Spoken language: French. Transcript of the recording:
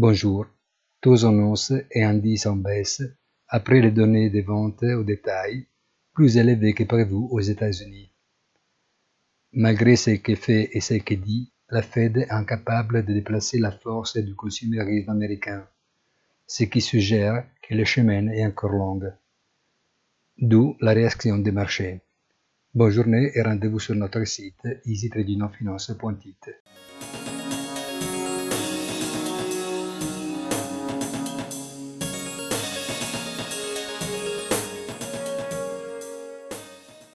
Bonjour. Taux en hausse et indices en baisse après les données des ventes au détail plus élevées que prévu aux États-Unis. Malgré ce qui est fait et ce qui est dit, la Fed est incapable de déplacer la force du consumérisme américain, ce qui suggère que le chemin est encore long. D'où la réaction des marchés. Bonne journée et rendez-vous sur notre site easytradingfinance.it.